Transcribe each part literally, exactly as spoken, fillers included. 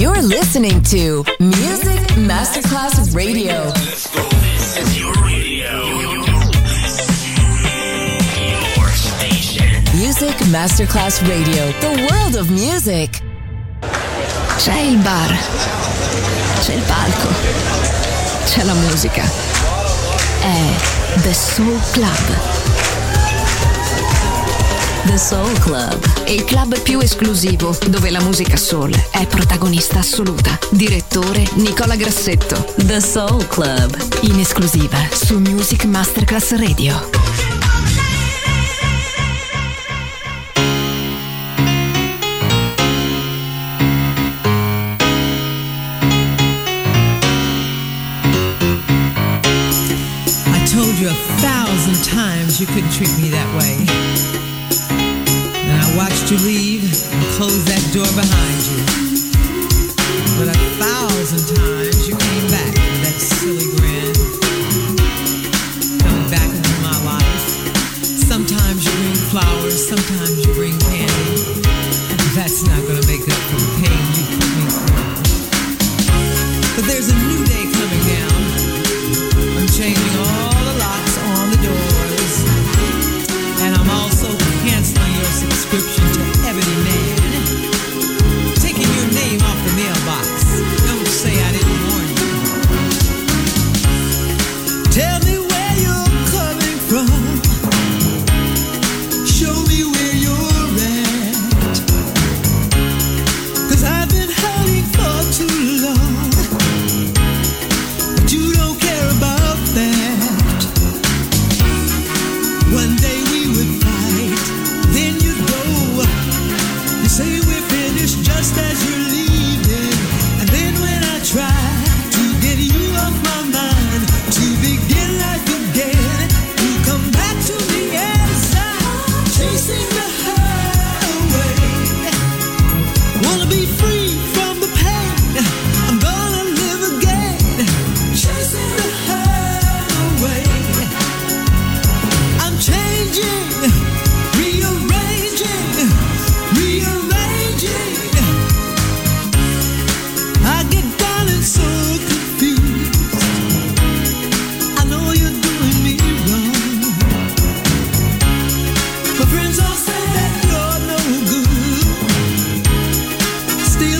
You're listening to Music Masterclass Radio. Let's go. This is your radio. Your station. Music Masterclass Radio. The world of music. C'è il bar. C'è il palco. C'è la musica. È The Soul Club. The Soul Club, il club più esclusivo dove la musica soul è protagonista assoluta. Direttore Nicola Grassetto. The Soul Club, in esclusiva su Music Masterclass Radio. I told you a thousand times you couldn't treat me that way. I watched you leave and close that door behind you. But a thousand times you came back with that silly grin. Coming back into my life. Sometimes you bring flowers, sometimes you bring candy. That's not gonna make up for the pain you put me through. But there's a new day coming down. I'm changing all the locks on the doors. And I'm also canceling your subscription to Ebony Man. Taking your name off the mailbox. Don't say I didn't warn you. Tell me where you're coming from. Show me where you're at. 'Cause I've been hurting for too long. But you don't care about that. One day we would fight, then you'd go. You say we're finished just as you're leaving. And then when I try to get you off my mind, to begin life again, you come back to me as I'm chasing the highway. Wanna be free from the pain, I'm gonna live again, chasing the highway. I'm changing, rearranging, rearranging. I get down and so confused. I know you're doing me wrong. My friends all say that you're no good. Still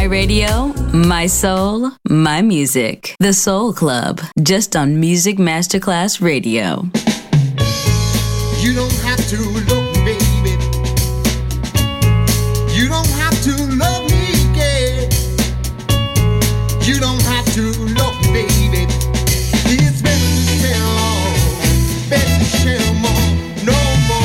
My radio, my soul, my music. The Soul Club, just on Music Masterclass Radio. You don't have to look, baby. You don't have to love me, yeah. You don't have to look, baby. It's better to share all, better to share more, no more.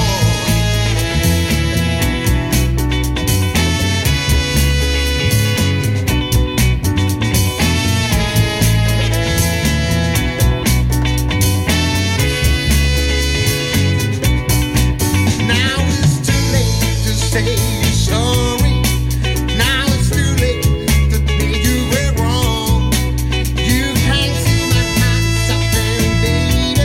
Baby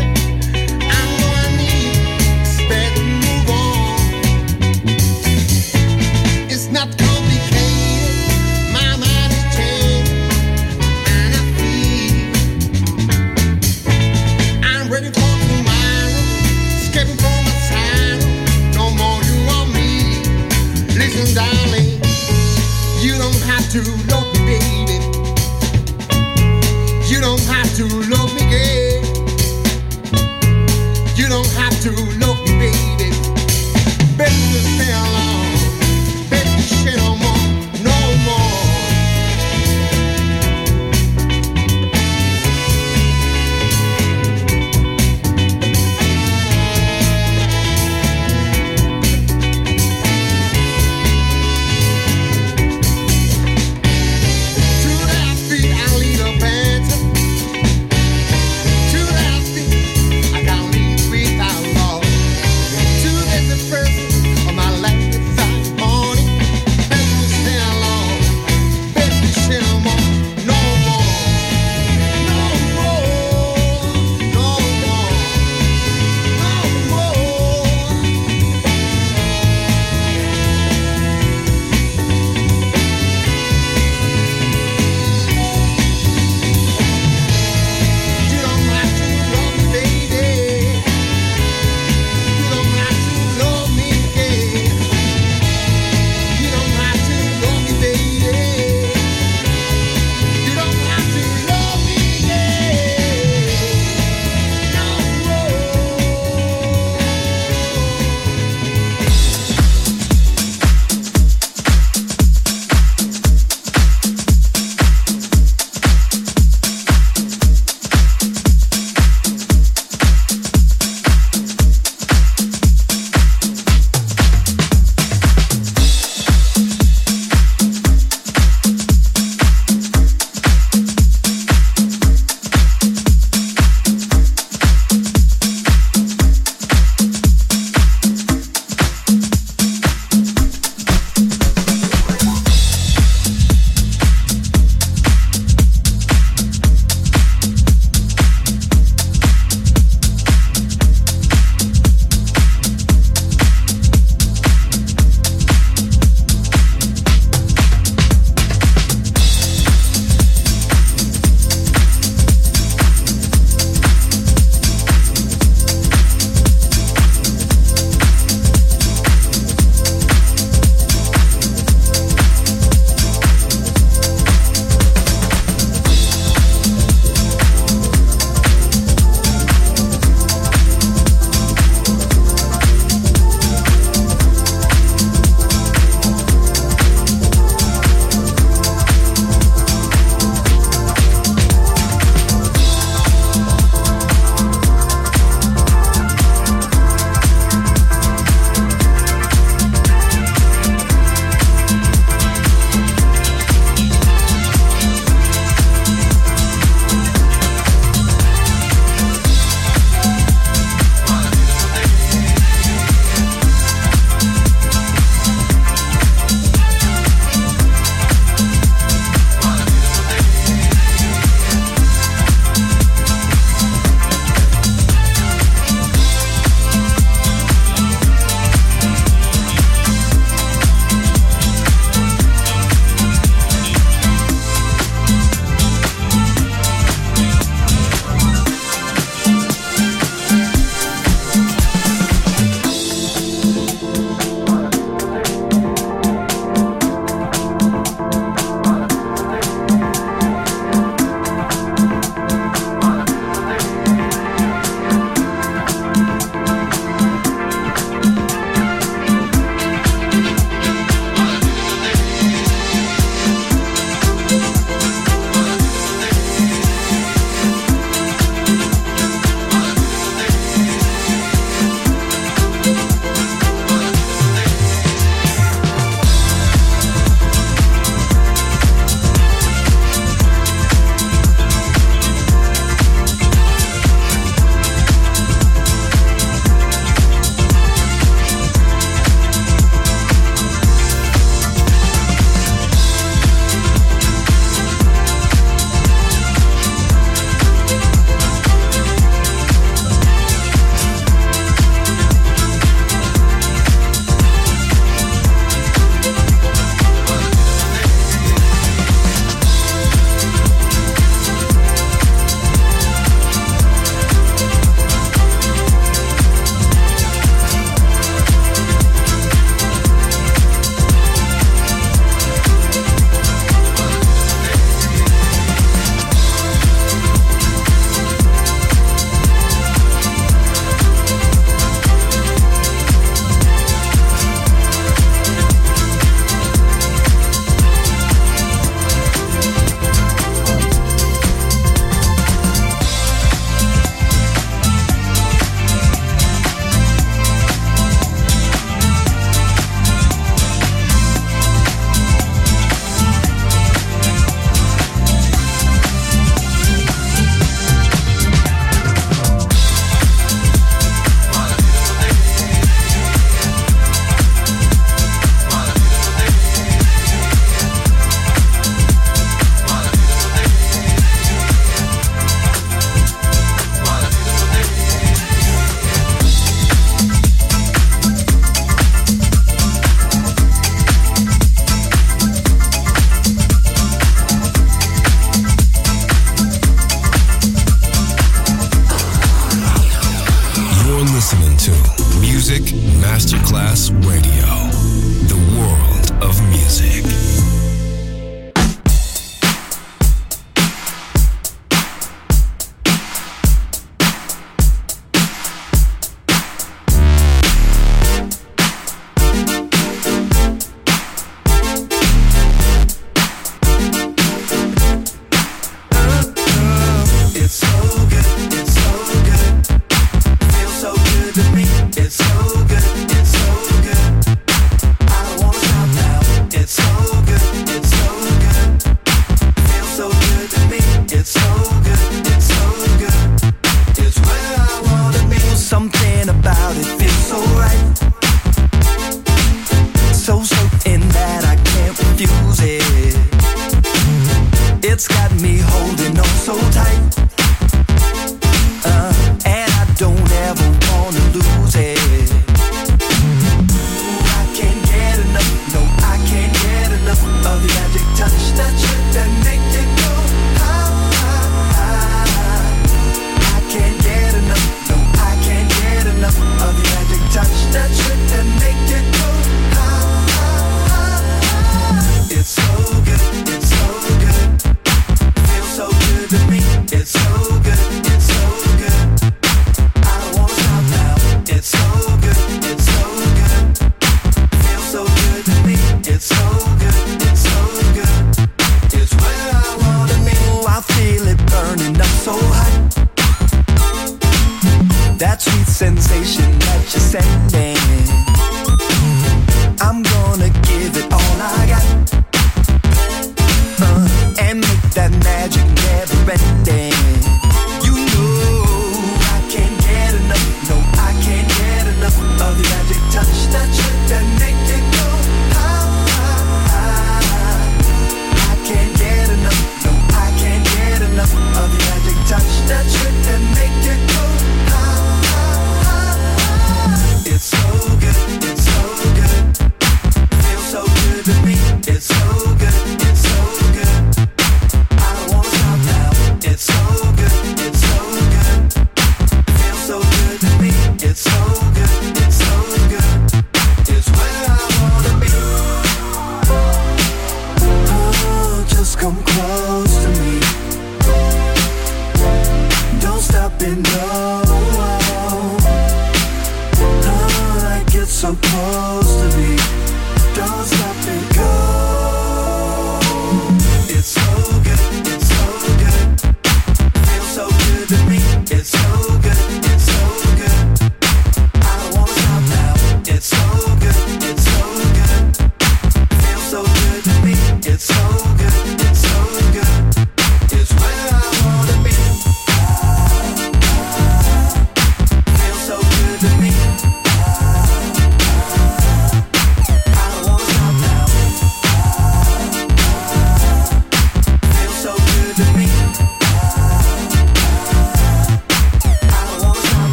Masterclass Radio, the world of music.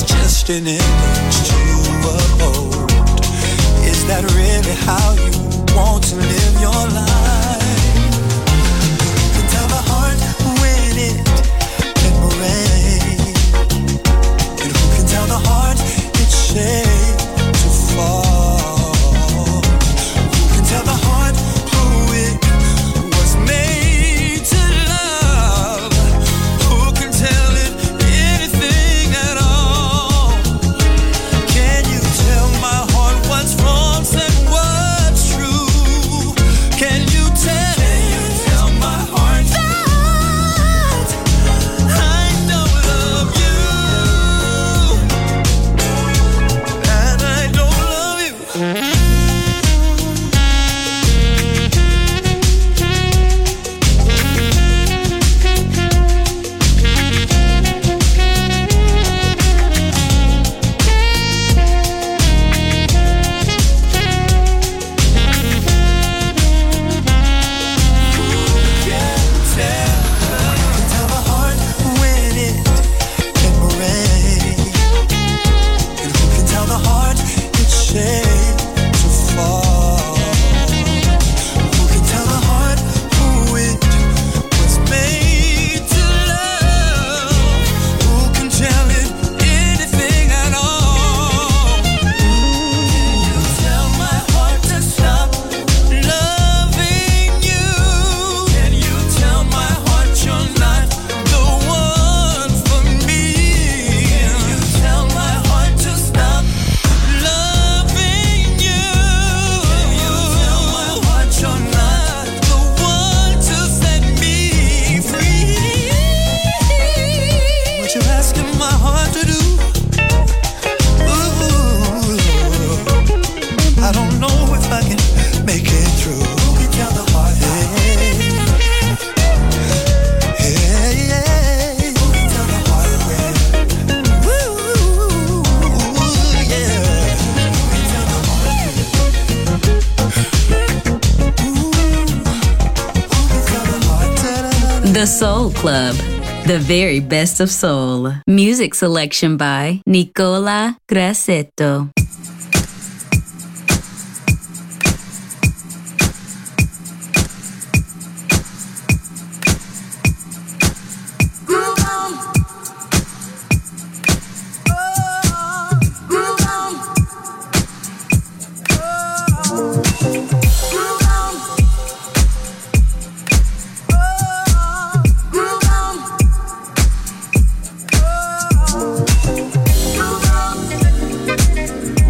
An image to uphold. Is that really how you want to live your life. You can tell the heart when it can break, and who can tell the heart it's shaped to fall? Who can tell the heart who it was made to love? Who can tell it anything at all? Can you tell my heart what's wrong and what's true? Can you tell? Can you tell my heart that I don't love you, and I don't love you? Tell the heart when it can break, and who can tell the heart it's shaped to fall? Who can tell the heart who it was made to love? Who can tell it anything at all? Can you tell my heart to stop loving you? Can you tell my heart you're not the one for me? Can you tell my heart to stop loving you? Can you tell my heart you're not the one to set me free? What you asking my heart to do? Ooh, I don't know if I can make it through. Who can tell the heart? Hey, hey, hey. Who can tell the heart when? Ooh, yeah. Who can tell the heart? Ooh, who can tell the heart? Ta-da-da-da. The Soul Club, the very best of soul. Music selection by Nicola Grassetto. Groove on.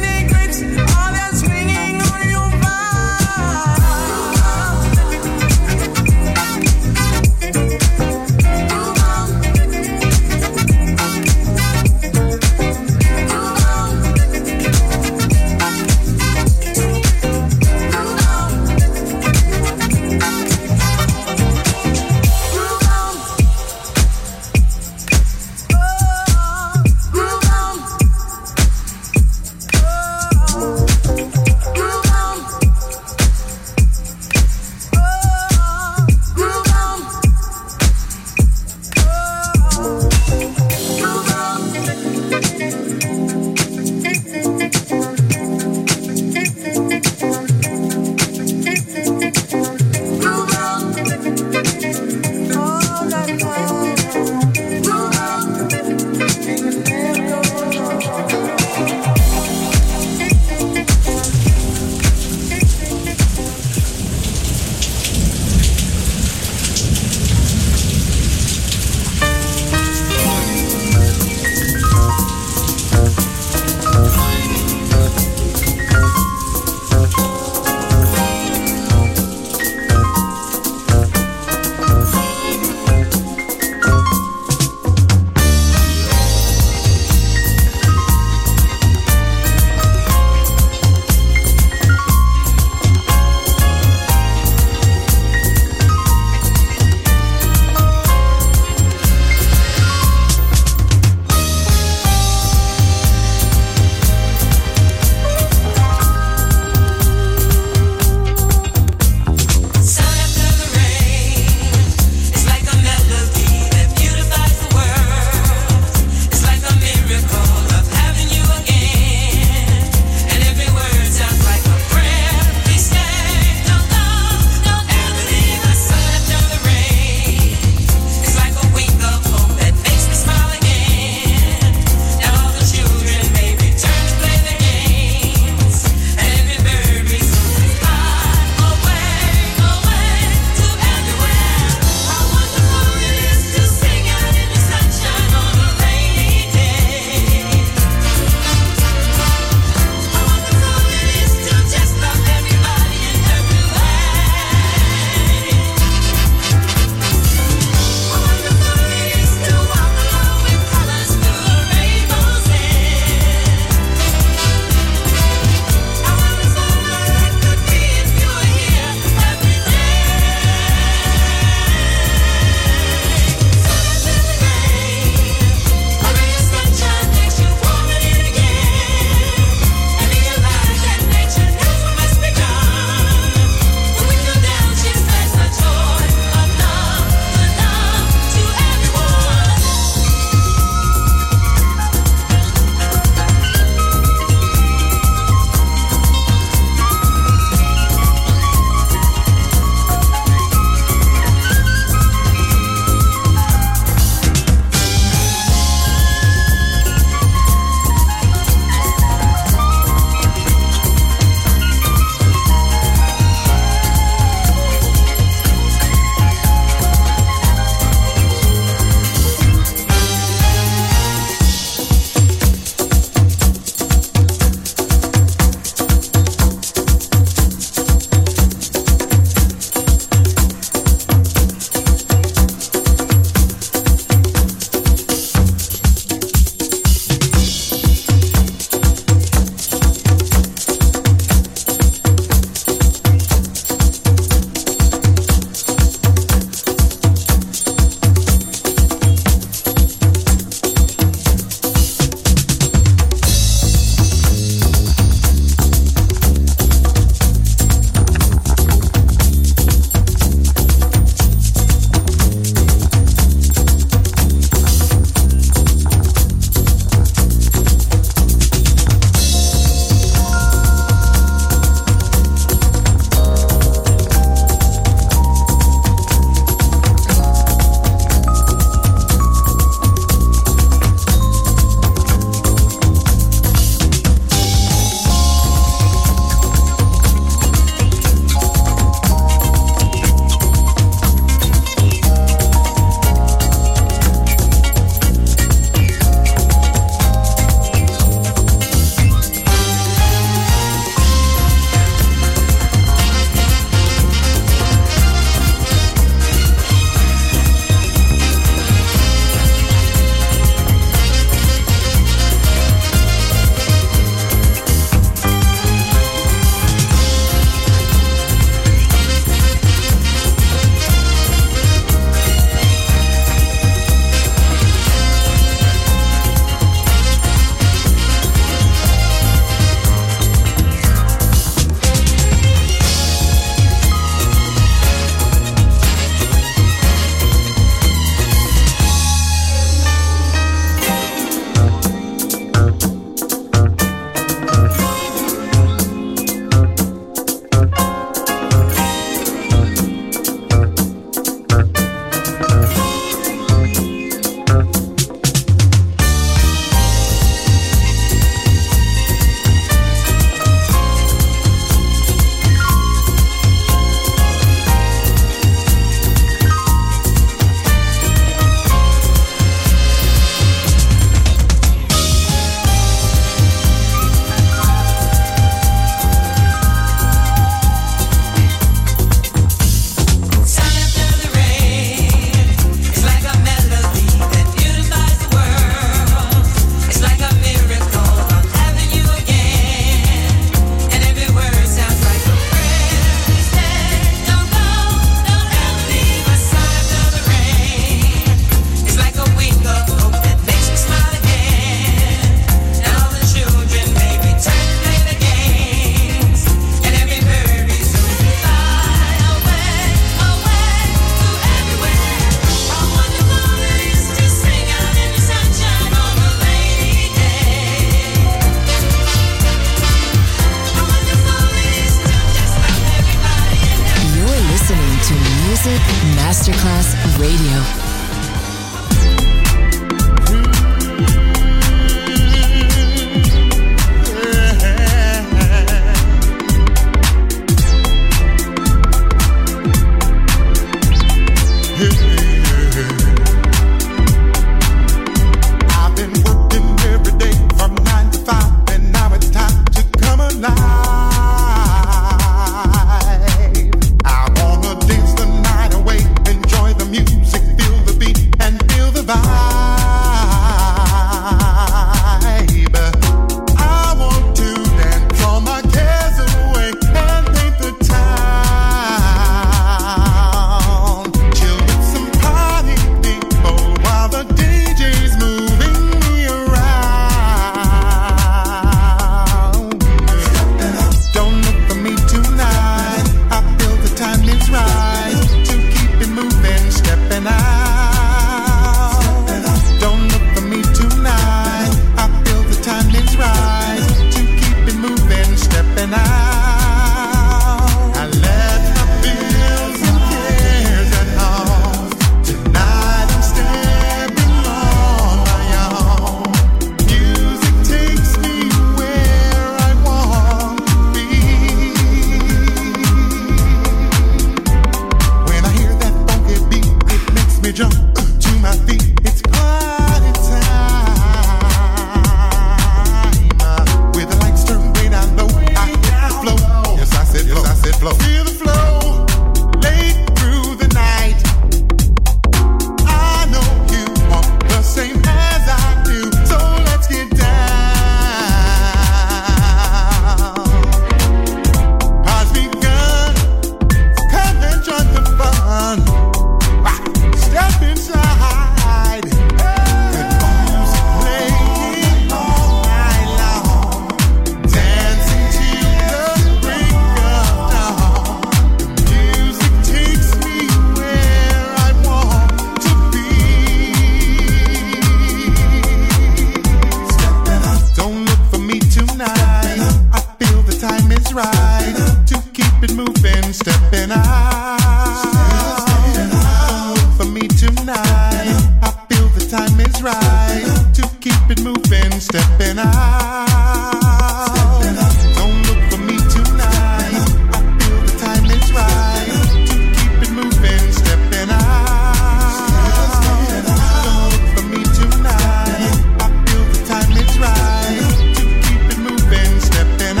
is right to keep it moving, stepping out. Don't look for me tonight. I feel the time is right to keep it moving, stepping out. Don't look for me tonight. I feel the time is right to keep it moving, stepping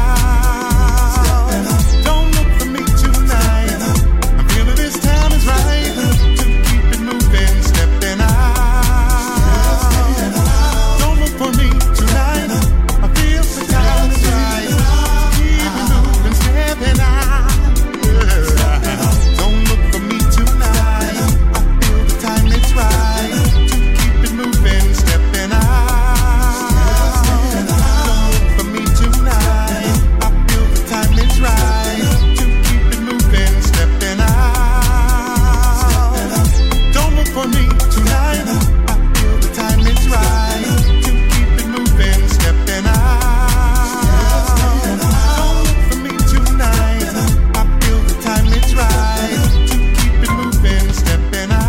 out. Don't look for me tonight. I feel that this time is right to keep it moving, stepping out. Don't look for me tonight. I feel the time is right. Keep it moving, stepping out. Don't look for me tonight. I feel the time is right to keep it moving, stepping out. Don't look for me tonight. I feel the time is right to keep it moving, stepping out. Don't look for me tonight. I feel the time is right to keep it moving, stepping out. Don't look for me tonight. I feel the time is right to keep it moving, stepping out.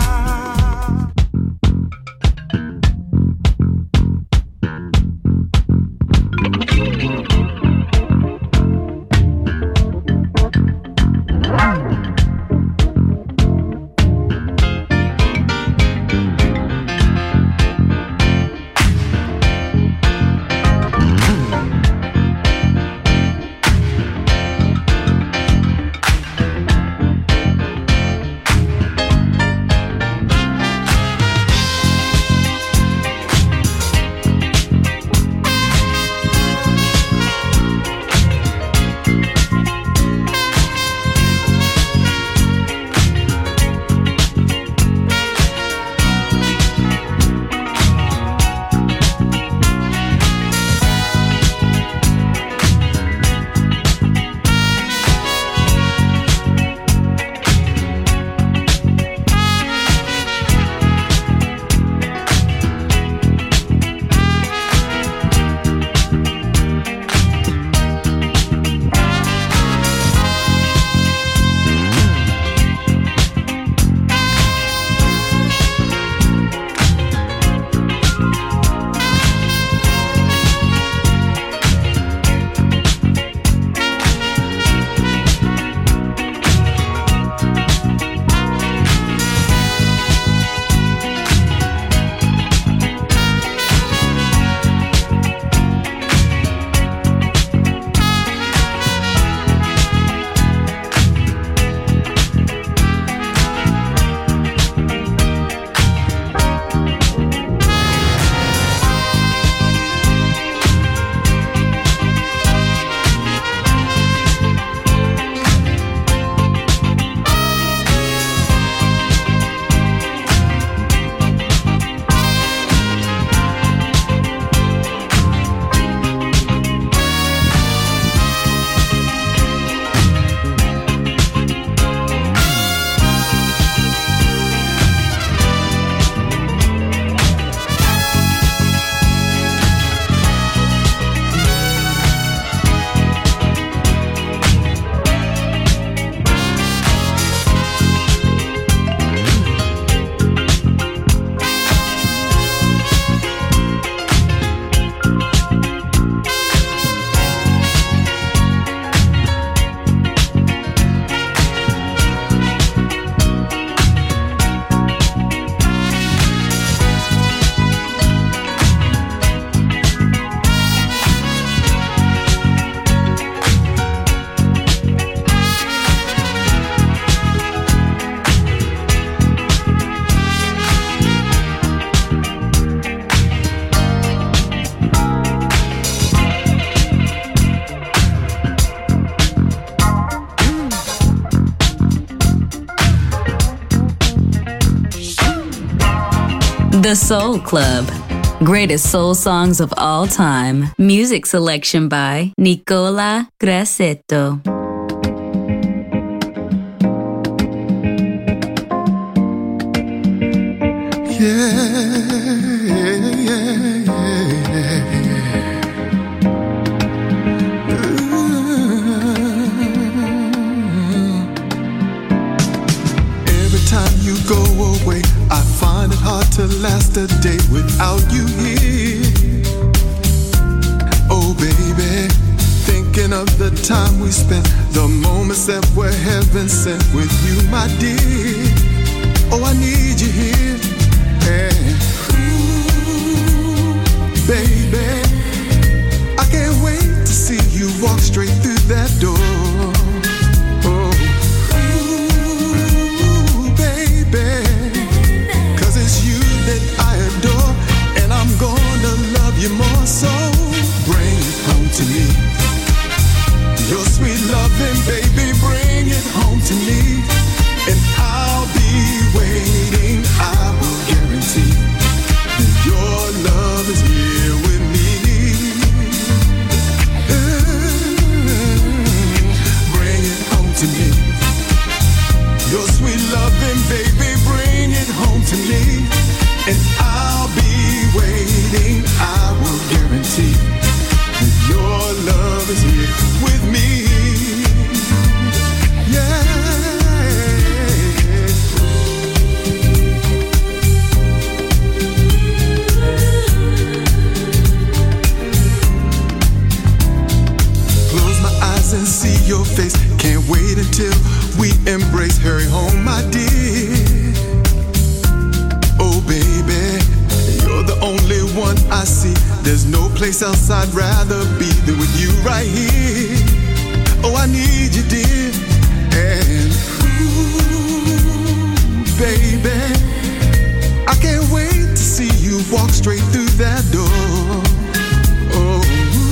The Soul Club. Greatest soul songs of all time. Music selection by Nicola Grassetto. Every time you go away, I find it hard to last a day without you here. Oh baby, thinking of the time we spent, the moments that were heaven sent with you, my dear. Oh, I need you here. And ooh, baby, I can't wait to see you walk straight through that door. Oh, ooh, baby, 'cause it's you that I adore, and I'm gonna love you more. So bring it home to me. Your sweet loving, baby, bring it home to me. And I'll be waiting, I will guarantee that your love is here with me. Mm, bring it home to me. Your sweet loving, baby, bring it home to me. And I'll be waiting, I will guarantee that your love is here with me. Yeah. And see your face, can't wait until we embrace. Hurry home, my dear. Oh baby, you're the only one I see. There's no place else I'd rather be than with you right here. Oh, I need you, dear. And ooh, baby, I can't wait to see you walk straight through that door. Oh,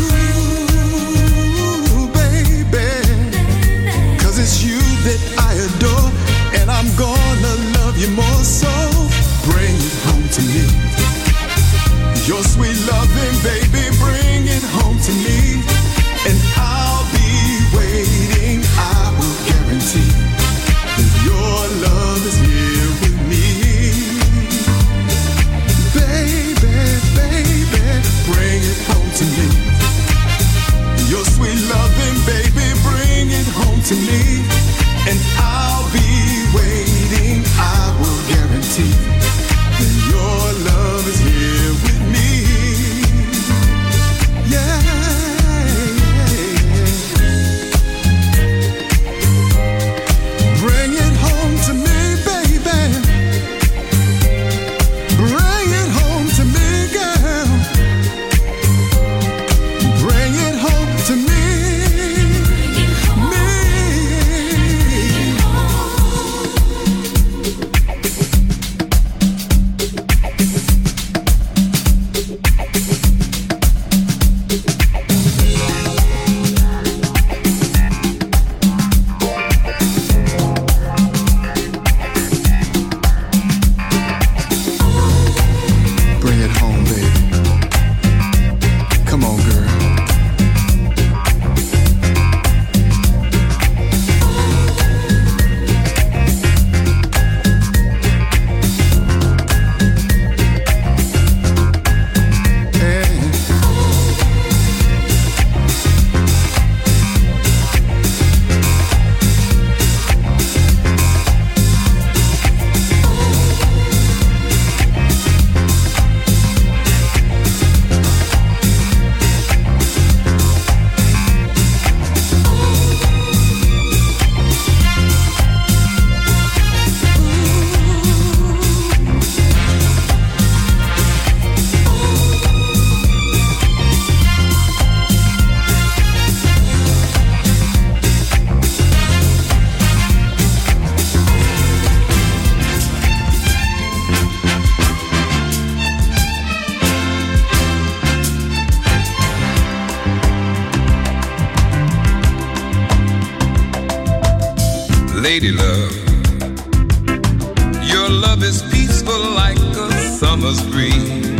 it's you that I adore, and I'm gonna love you more. So bring it home to me. Your sweet loving, baby, bring it home to me. And I'll be waiting, I will guarantee that your love is here with me. Baby, baby, bring it home to me. Your sweet loving, baby, bring it home to me. And I'll be waiting, I will guarantee that your love is here with me. Yeah, bring it home to me, baby. Bring it home to me, girl. Bring it home to me. Lady love, your love is peaceful like a summer's breeze.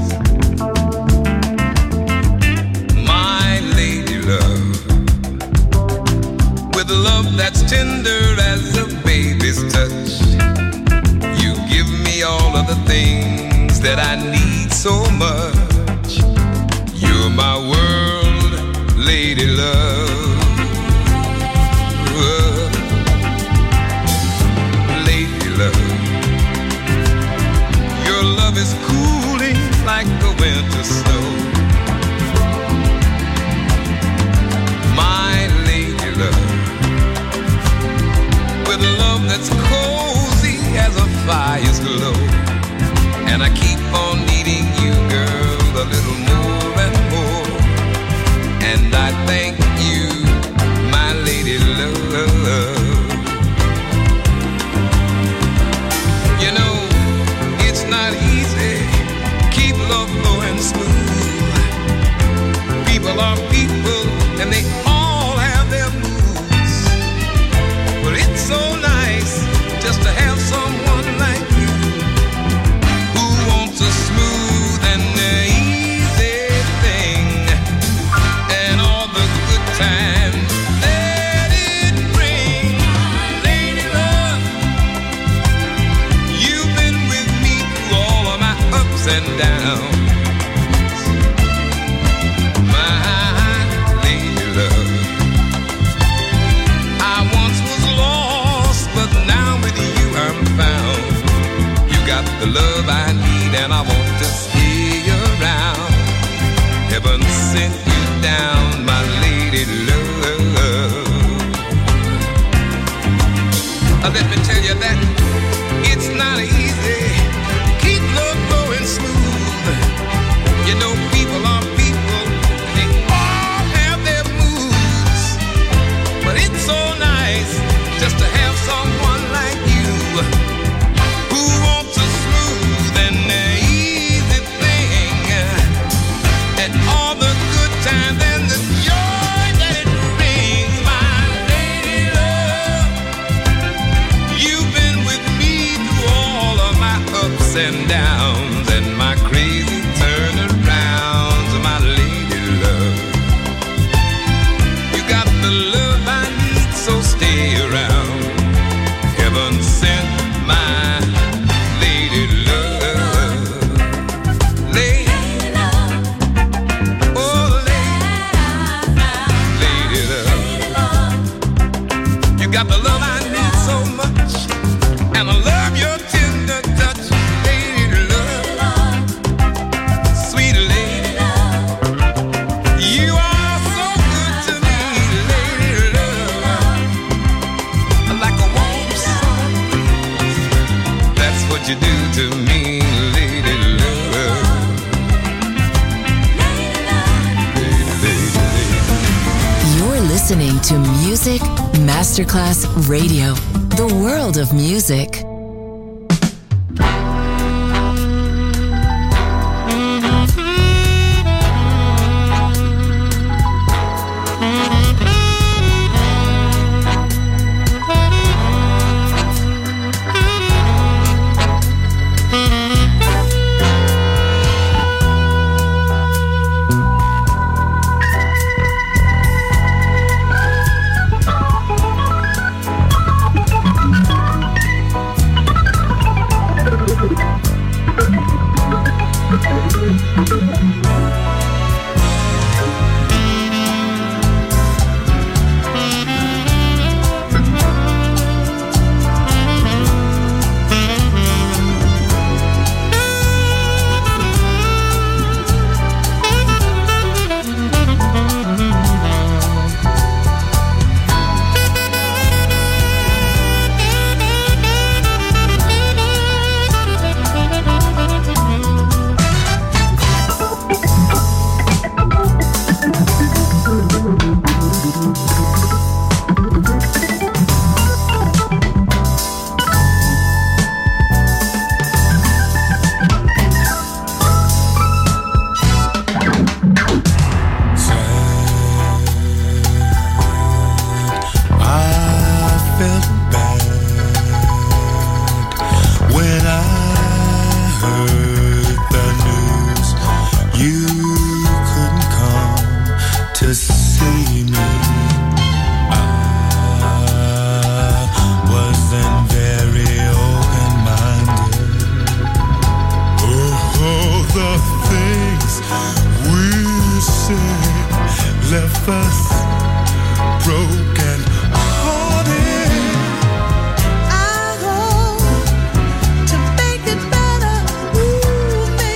My lady love, with love that's tender as a baby's touch, you give me all of the things that I need so much. You're my world, lady love. Love. Your love is cooling like the winter snow. My lady love, with love that's cozy as a fire's glow. And I keep on needing you, girl, a little more and more. And I thank you, my lady love. You know, it's not easy, keep love flowing smooth. People are people, and they all have their moods. But it's so nice just to have someone like you, who wants a smooth and easy thing, and all the good times that it brings. Lady love, you've been with me through all of my ups and downs. The love I need, and I want to stay around. Heaven sent you down, my lady love. Uh, let me tell you that it's not easy. Keep love flowing smooth. You know, people are people, and they all have their moods. But it's so nice just to have someone like you, who wants a smooth and easy thing, and all the good times and the joy that it brings. My lady love, you've been with me through all of my ups and downs and my crazy turnarounds. My lady love, you got the love I need, so stay around. Heaven sent my lady love. Lady love. Oh, lady, lady love. You got the love I need so much, and I love your tender touch. Lady love. Sweet lady love. You are so good to me, lady love. Like a warm sun, that's what you do to me, lady love. Lady, lady, lady. You're listening to Music Masterclass Radio, the world of music. To make it better, ooh,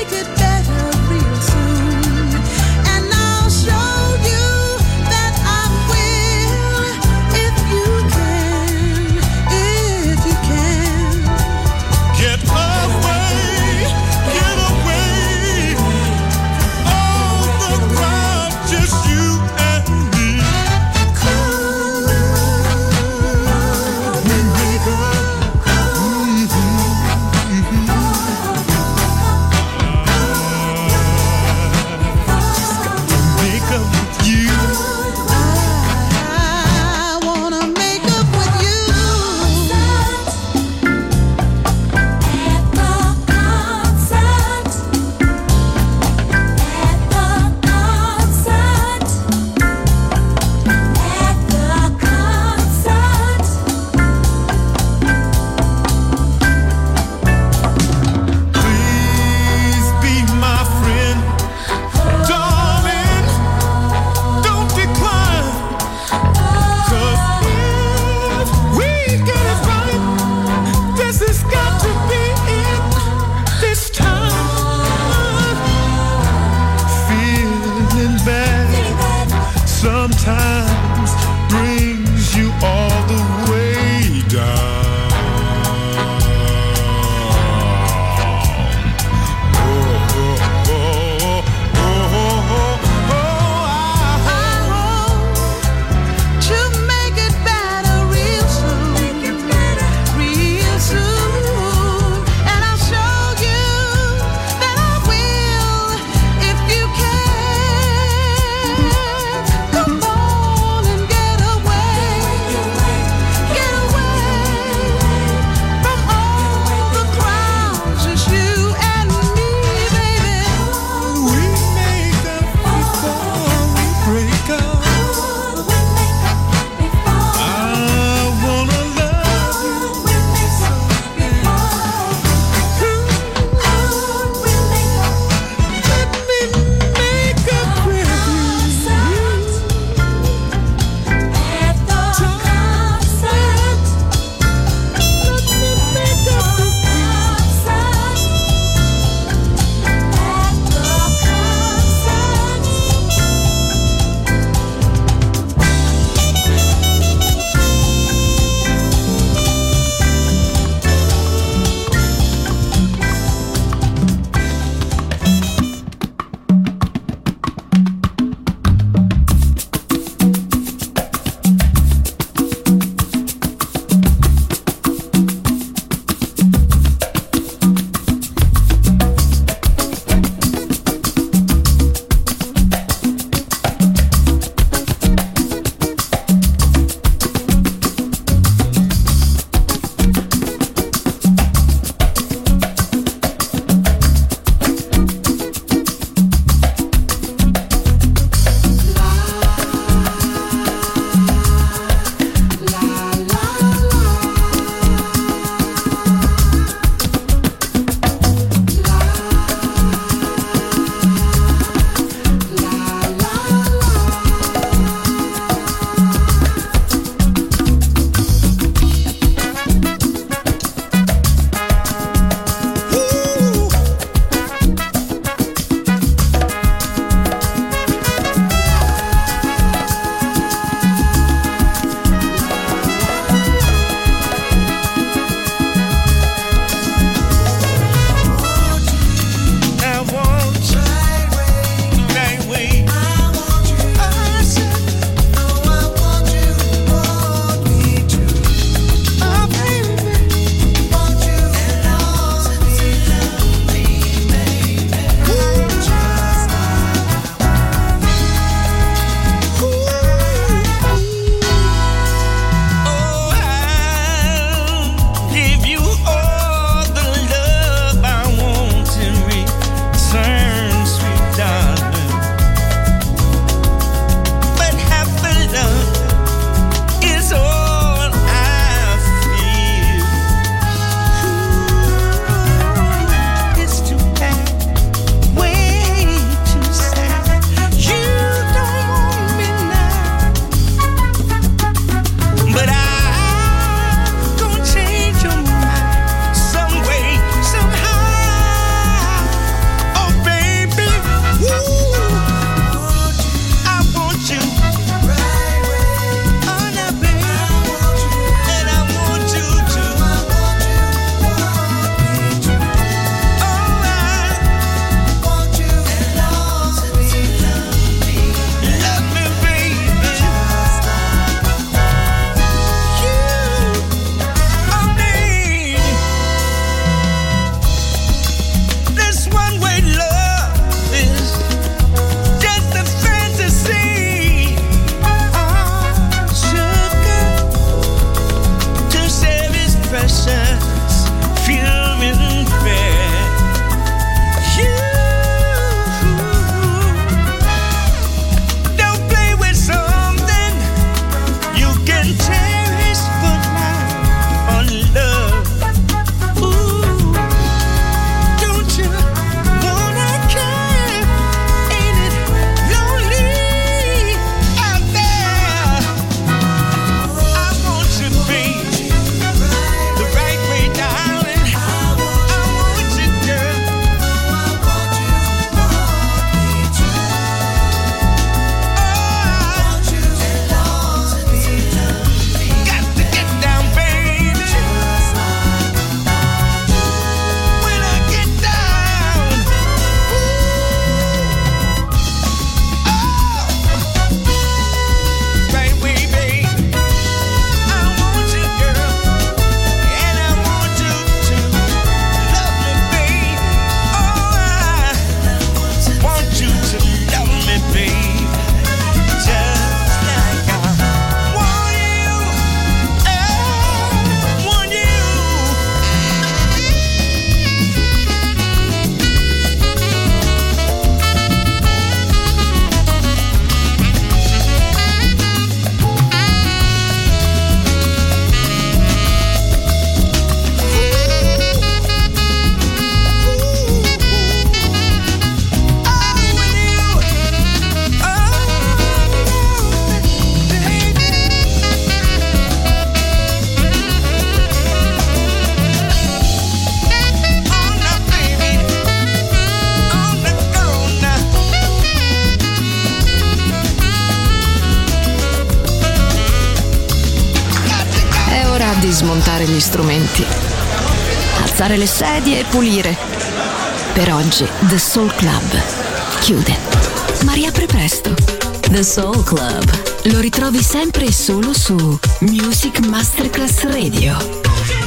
di smontare gli strumenti, alzare le sedie e pulire. Per oggi The Soul Club chiude, ma riapre presto. The Soul Club lo ritrovi sempre e solo su Music Masterclass Radio.